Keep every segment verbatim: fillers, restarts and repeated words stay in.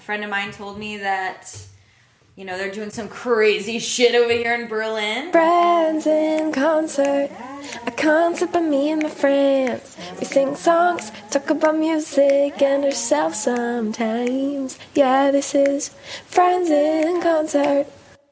friend of mine told me that, you know, they're doing some crazy shit over here in Berlin. Friends in concert, a concert by me and my friends. We sing songs, talk about music and ourselves sometimes. Yeah, this is Friends in Concert.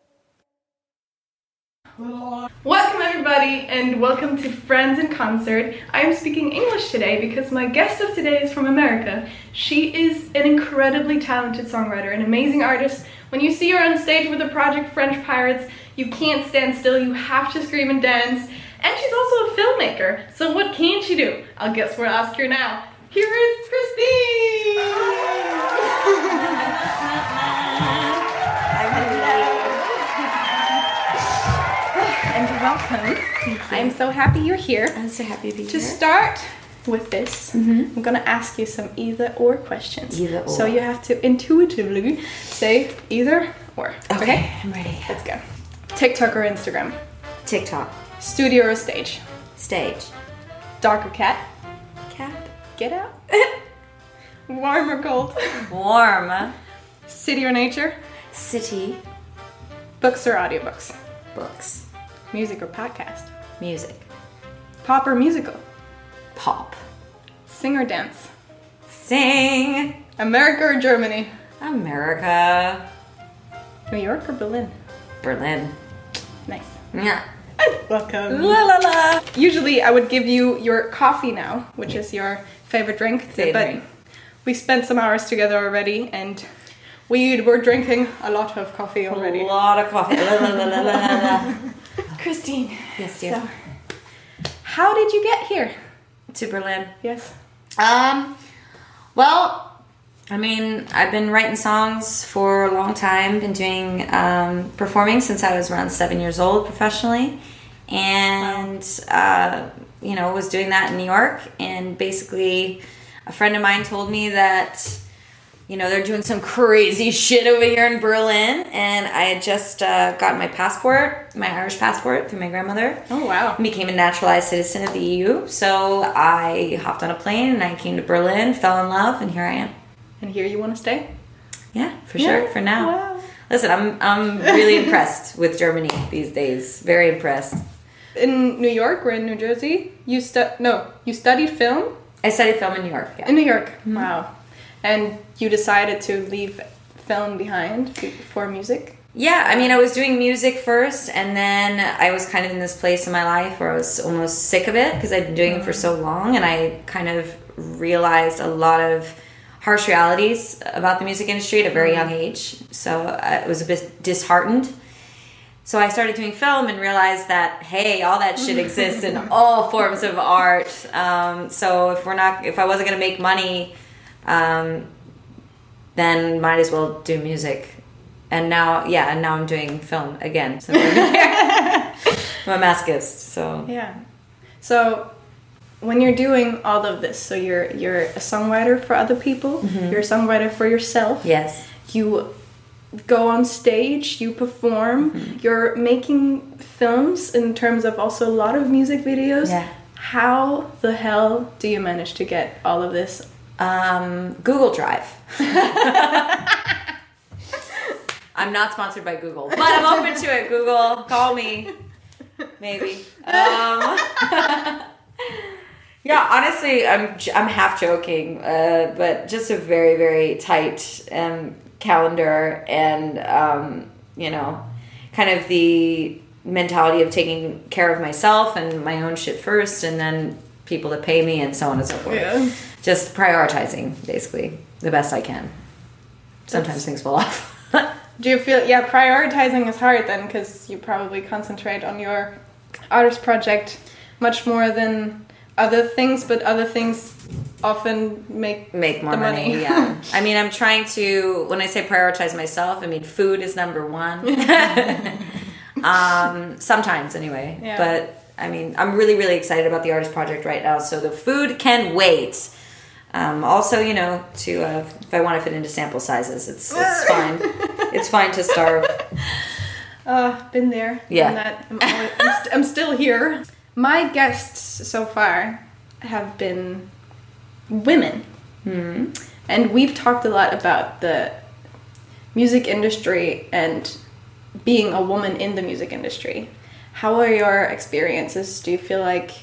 Welcome everybody and welcome to Friends in Concert. I am speaking English today because my guest of today is from America. She is an incredibly talented songwriter, an amazing artist. When you see her on stage with the project French Pirates, you can't stand still, you have to scream and dance. And she's also a filmmaker, so what can she do? I guess we'll ask her now. Here is Christine! And welcome. I'm so happy you're here. I'm so happy to be To here. start with this, Mm-hmm. I'm gonna ask you some either or questions. Either or. So you have to intuitively say either or. Okay, I'm ready. Let's go. TikTok or Instagram? TikTok. Studio or stage? Stage. Dog or cat? Cat. Get out. Warm or cold? Warm. City or nature? City. Books or audiobooks? Books. Music or podcast? Music. Pop or musical? Pop. Sing or dance? Sing. America or Germany? America. New York or Berlin? Berlin. Nice. Yeah. Welcome. La la la. Usually I would give you your coffee now, which is your favorite drink. Favorite. But we spent some hours together already and we were drinking a lot of coffee already. A lot of coffee. La, la, la, la, la, la. Christine. Yes, dear. So, how did you get here? To Berlin. Yes. Um, well, I mean, I've been writing songs for a long time, been doing, um, performing since I was around seven years old professionally. And, uh, you know, was doing that in New York. And basically, a friend of mine told me that, you know, they're doing some crazy shit over here in Berlin. And I had just uh, gotten my passport, my Irish passport through my grandmother. Oh, wow. And became a naturalized citizen of the E U. So I hopped on a plane and I came to Berlin, fell in love, and here I am. And here you want to stay? Yeah, for Yeah. sure, for now. Wow. Listen, I'm I'm really impressed with Germany these days. Very impressed. In New York or in New Jersey? You stu- No, you studied film? I studied film in New York. Yeah. In New York. Wow. And you decided to leave film behind for music? Yeah, I mean, I was doing music first, and then I was kind of in this place in my life where I was almost sick of it because I'd been doing it for so long, and I kind of realized a lot of harsh realities about the music industry at a very young age. So I was a bit disheartened. So I started doing film and realized that, hey, all that shit exists in all forms of art. Um, so if we're not, if I wasn't going to make money, um, then might as well do music. And now, yeah, and now I'm doing film again. So I'm a masochist. So Yeah. So when you're doing all of this, so you're you're a songwriter for other people, you're a songwriter for yourself. yes, You go on stage, you perform, you're making films in terms of also a lot of music videos. Yeah. How the hell do you manage to get all of this? um, Google Drive. I'm not sponsored by Google, but I'm open to it. Google, call me, maybe. Um, yeah, honestly, I'm I'm half joking, uh, but just a very very tight um, calendar, and um, you know, kind of the mentality of taking care of myself and my own shit first, and then people to pay me, and so on and so forth. Yeah. Just prioritizing, basically, the best I can. Sometimes things fall off. Do you feel, yeah, prioritizing is hard then because you probably concentrate on your artist project much more than other things, but other things often make Make more the money, money. yeah. I mean, I'm trying to, when I say prioritize myself, I mean, food is number one. um, sometimes, anyway. Yeah. But, I mean, I'm really, really excited about the artist project right now, so the food can wait. Um, also, you know, to uh, if I want to fit into sample sizes, it's it's fine. It's fine to starve. Uh, been there. Yeah. Done that. I'm, always, I'm, st- I'm still here. My guests so far have been women. Hmm. And we've talked a lot about the music industry and being a woman in the music industry. How are your experiences? Do you feel like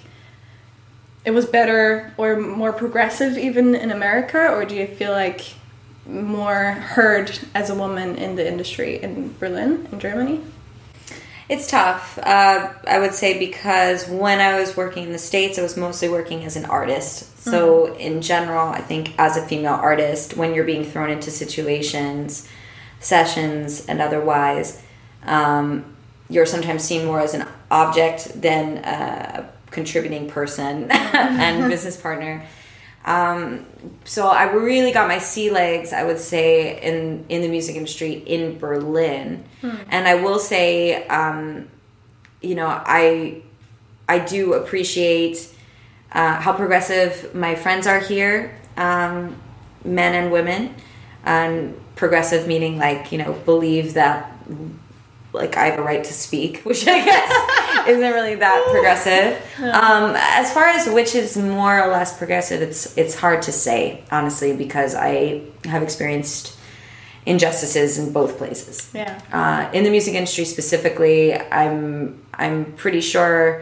it was better or more progressive even in America, or do you feel like more heard as a woman in the industry in Berlin, in Germany? It's tough, uh, I would say, because when I was working in the States, I was mostly working as an artist. So mm-hmm. in general, I think as a female artist, when you're being thrown into situations, sessions, and otherwise, um, you're sometimes seen more as an object than a contributing person and business partner. Um, so I really got my sea legs, I would say, in, in the music industry in Berlin. Hmm. And I will say, um, you know, I, I do appreciate, uh, how progressive my friends are here, um, men and women, and progressive meaning like, you know, believe that like I have a right to speak, which I guess isn't really that progressive. Um, as far as which is more or less progressive, it's it's hard to say, honestly, because I have experienced injustices in both places. Yeah. Uh, in the music industry specifically, I'm I'm pretty sure,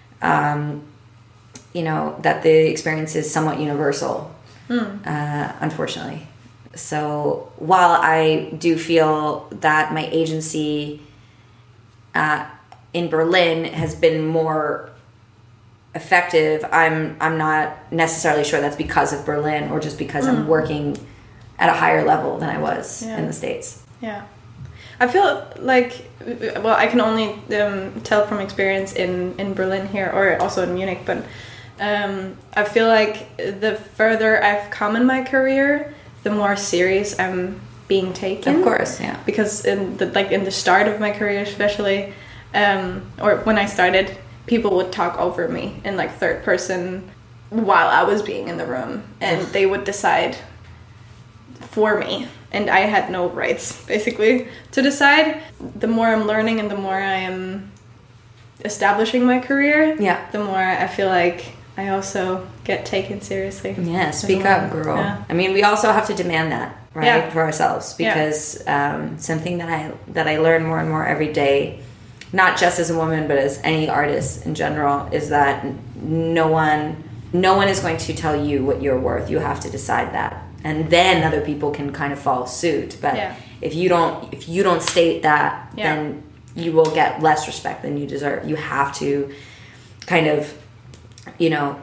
um, you know, that the experience is somewhat universal, mm. uh, unfortunately. So while I do feel that my agency uh, in Berlin has been more effective, I'm I'm not necessarily sure that's because of Berlin or just because mm. I'm working at a higher level than I was yeah. in the States. Yeah. I feel like, well, I can only um, tell from experience in, in Berlin here, or also in Munich, but um, I feel like the further I've come in my career, the more serious I'm being taken. Of course, yeah. Because in the like in the start of my career, especially, um, or when I started, people would talk over me in like third person while I was being in the room, and they would decide for me, and I had no rights basically to decide. The more I'm learning and the more I am establishing my career, yeah, the more I feel like I also get taken seriously. Yeah, speak up, girl. Yeah. I mean, we also have to demand that, right, yeah. for ourselves, because yeah. um, something that I that I learn more and more every day, not just as a woman, but as any artist in general, is that no one, no one is going to tell you what you're worth. You have to decide that, and then other people can kind of follow suit. But yeah. if you don't, if you don't state that, yeah. then you will get less respect than you deserve. You have to kind of, you know,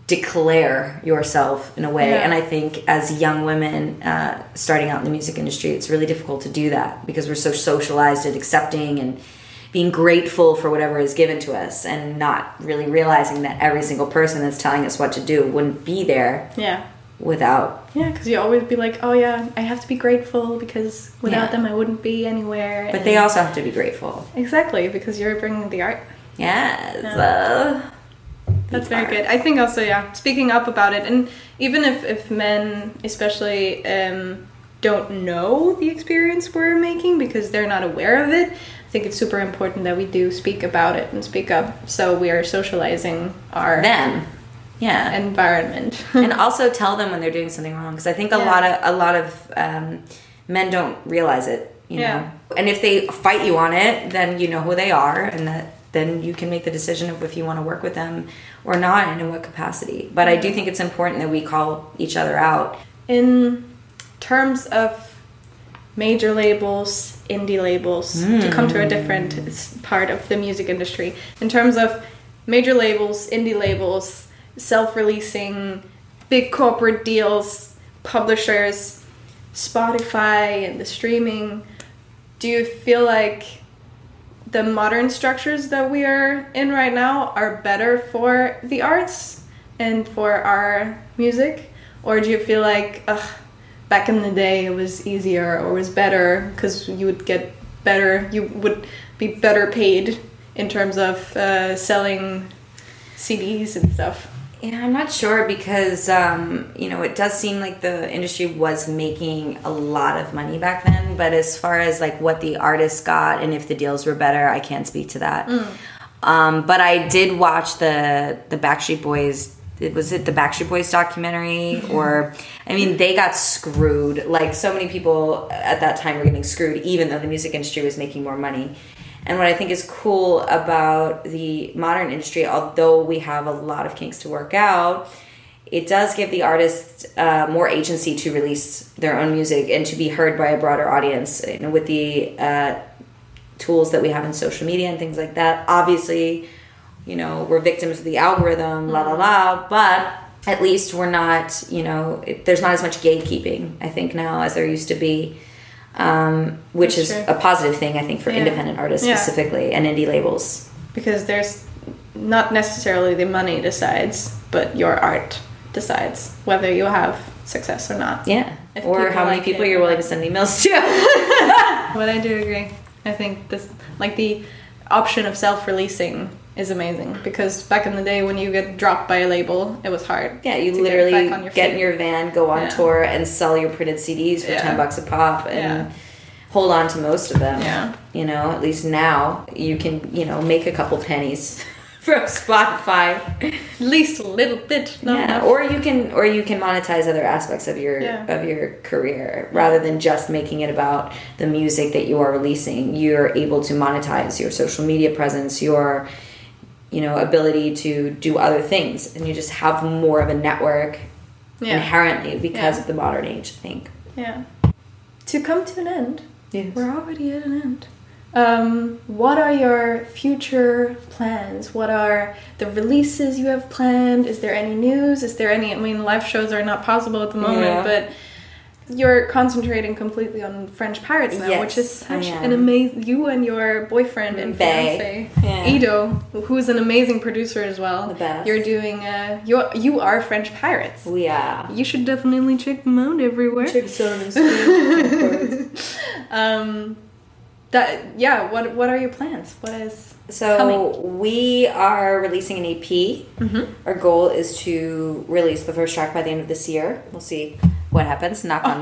declare yourself in a way. Yeah. And I think as young women uh, starting out in the music industry, it's really difficult to do that because we're so socialized at accepting and being grateful for whatever is given to us, and not really realizing that every single person that's telling us what to do wouldn't be there yeah. without... Yeah, because you always be like, oh yeah, I have to be grateful because without yeah. them I wouldn't be anywhere. But and they also have to be grateful. Exactly, because you're bringing the art. Yes. Yeah. Uh, That's very good. I think also, yeah, speaking up about it, and even if, if men especially um, don't know the experience we're making because they're not aware of it, I think it's super important that we do speak about it and speak up, so we are socializing our them, yeah, environment, and also tell them when they're doing something wrong, because I think a yeah. lot of a lot of um, men don't realize it, you yeah. know. And if they fight you on it, then you know who they are, and that then you can make the decision of if you want to work with them or not, and in what capacity. But I do think it's important that we call each other out. In terms of major labels, indie labels, mm. to come to a different part of the music industry, in terms of major labels, indie labels, self-releasing, big corporate deals, publishers, Spotify and the streaming, do you feel like the modern structures that we are in right now are better for the arts and for our music? Or do you feel like, ugh, back in the day it was easier or was better because you would get better, you would be better paid in terms of uh, selling C Ds and stuff? Yeah, I'm not sure, because, um, you know, it does seem like the industry was making a lot of money back then. But as far as, like, what the artists got and if the deals were better, I can't speak to that. Mm. Um, but I did watch the, the Backstreet Boys it was it the Backstreet Boys documentary, or I mean, they got screwed. Like so many people at that time were getting screwed, even though the music industry was making more money. And what I think is cool about the modern industry, although we have a lot of kinks to work out, it does give the artists uh, more agency to release their own music and to be heard by a broader audience. You know, with the uh, tools that we have in social media and things like that. Obviously, you know, we're victims of the algorithm, la la la, but at least we're not, you know, it, there's not as much gatekeeping, I think, now as there used to be. Um, which That's is true. a positive thing, I think, for Yeah. independent artists Yeah. specifically and indie labels. Because there's not necessarily the money decides, but your art decides whether you have success or not. Yeah. If Or people how many like people it. you're willing to send emails to. But I do agree. I think this, like the option of self-releasing is amazing, because back in the day when you get dropped by a label, it was hard. Yeah, you to literally get, back on your get feet. in your van, go on Yeah. tour, and sell your printed C Ds for Yeah. ten bucks a pop, and Yeah. hold on to most of them. Yeah. You know, at least now you can, you know, make a couple pennies from Spotify. At least a little bit. Not Yeah, enough. or you can, or you can monetize other aspects of your Yeah. of your career rather than just making it about the music that you are releasing. You're able to monetize your social media presence, your, you know, ability to do other things, and you just have more of a network Yeah. inherently because Yeah. of the modern age, I think. Yeah. To come to an end, Yes. we're already at an end. Um, what are your future plans? What are the releases you have planned? Is there any news? Is there any, I mean, live shows are not possible at the moment, Yeah. but you're concentrating completely on French Pirates now, Yes, which is I such am. an amazing, you and your boyfriend and Bae. fiance, Yeah. Ido, who's an amazing producer as well. The best. You're doing, uh, you you are French Pirates. We are. You should definitely check them out everywhere. Um, that yeah. What what are your plans? What is So coming? we are releasing an E P. Mhm. Our goal is to release the first track by the end of this year. We'll see what happens. Knock on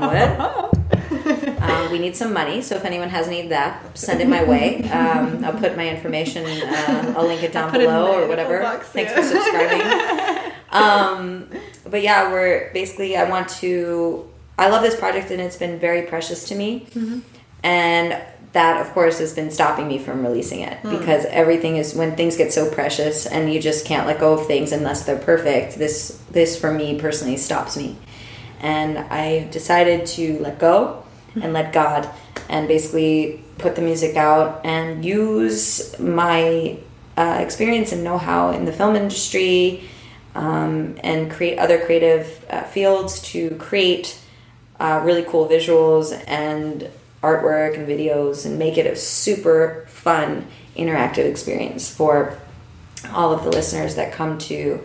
wood. um, we need some money, so if anyone has any of that, send it my way. Um, I'll put my information. Uh, I'll link it down put it in below the or whatever. info box, Thanks yeah. for subscribing. um, but yeah, we're basically. I want to. I love this project, and it's been very precious to me. Mm-hmm. And that, of course, has been stopping me from releasing it Hmm. because everything is when things get so precious and you just can't let go of things unless they're perfect. This, this for me personally stops me, and I decided to let go and let God, and basically put the music out and use my uh, experience and know-how in the film industry, um, and create other creative uh, fields to create uh, really cool visuals and artwork and videos, and make it a super fun interactive experience for all of the listeners that come to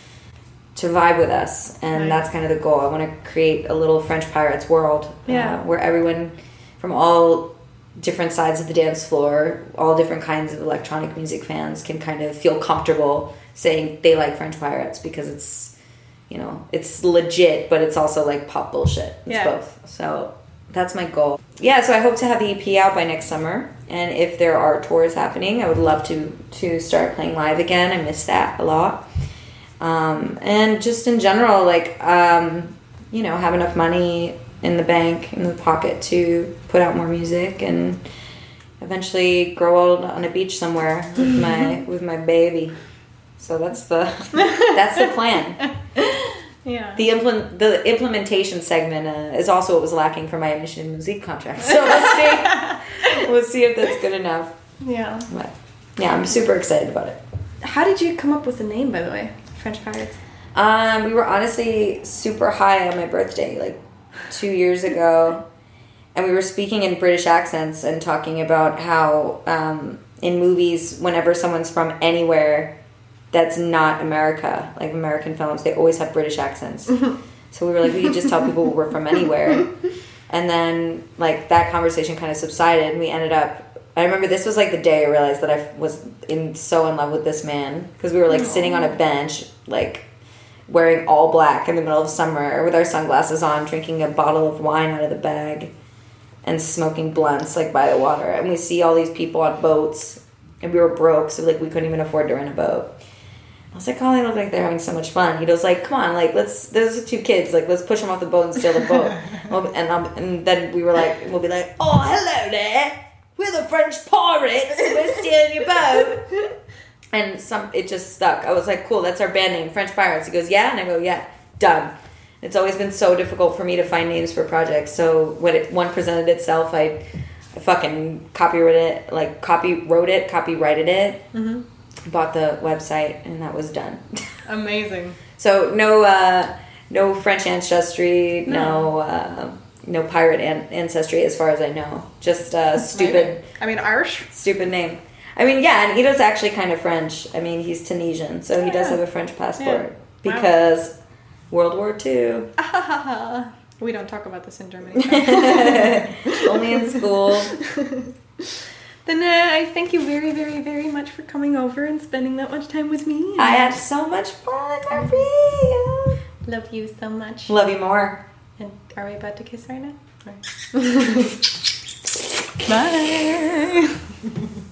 to vibe with us. And Right. that's kind of the goal. I want to create a little French Pirates world, Yeah. uh, where everyone from all different sides of the dance floor, all different kinds of electronic music fans can kind of feel comfortable saying they like French Pirates, because it's, you know, it's legit, but it's also like pop bullshit. It's Yeah. both. So that's my goal. Yeah, so I hope to have the E P out by next summer. And if there are tours happening, I would love to to start playing live again. I miss that a lot. Um, and just in general, like, um, you know, have enough money in the bank, in the pocket, to put out more music and eventually grow old on a beach somewhere with my with my baby. So that's the that's the plan. Yeah. The implement the implementation segment uh, is also what was lacking for my Mission Music contract. So we'll see. We'll see if that's good enough. Yeah. But yeah, I'm super excited about it. How did you come up with the name, by the way? French Pirates. Um, we were honestly super high on my birthday, like two years ago, and we were speaking in British accents and talking about how um, in movies, whenever someone's from anywhere that's not America, like American films, they always have British accents. So we were like, we could just tell people we're from anywhere. And then, like, that conversation kind of subsided, and we ended up, I remember this was like the day I realized that I was in so in love with this man, because we were like Aww. sitting on a bench, like wearing all black in the middle of summer with our sunglasses on, drinking a bottle of wine out of the bag and smoking blunts like by the water. And we see all these people on boats, and we were broke, so like we couldn't even afford to rent a boat. I was like, oh, they look like they're having so much fun. He goes like, come on, like, let's, those are two kids, like, let's push them off the boat and steal the boat. and, um, and then we were like, we'll be like, oh, hello there, we're the French pirates, we're stealing your boat. And some, it just stuck. I was like, cool, that's our band name, French Pirates. He goes, yeah? And I go, yeah, done. It's always been so difficult for me to find names for projects. So when it, one presented itself, I, I fucking copyrighted it, like copy wrote it, copyrighted it, mm-hmm. bought the website, and that was done. Amazing. So no, uh, no French ancestry, no, no, uh, no pirate an- ancestry, as far as I know. Just uh, stupid. I mean, Irish. Stupid name. I mean, yeah, and Ido's actually kind of French. I mean, he's Tunisian, so he does have a French passport. Yeah. Because wow. World War Two. We don't talk about this in Germany. Only in school. Then uh, I thank you very, very, very much for coming over and spending that much time with me. I had so much fun, Marie. Love you so much. Love you more. And are we about to kiss right now? Bye.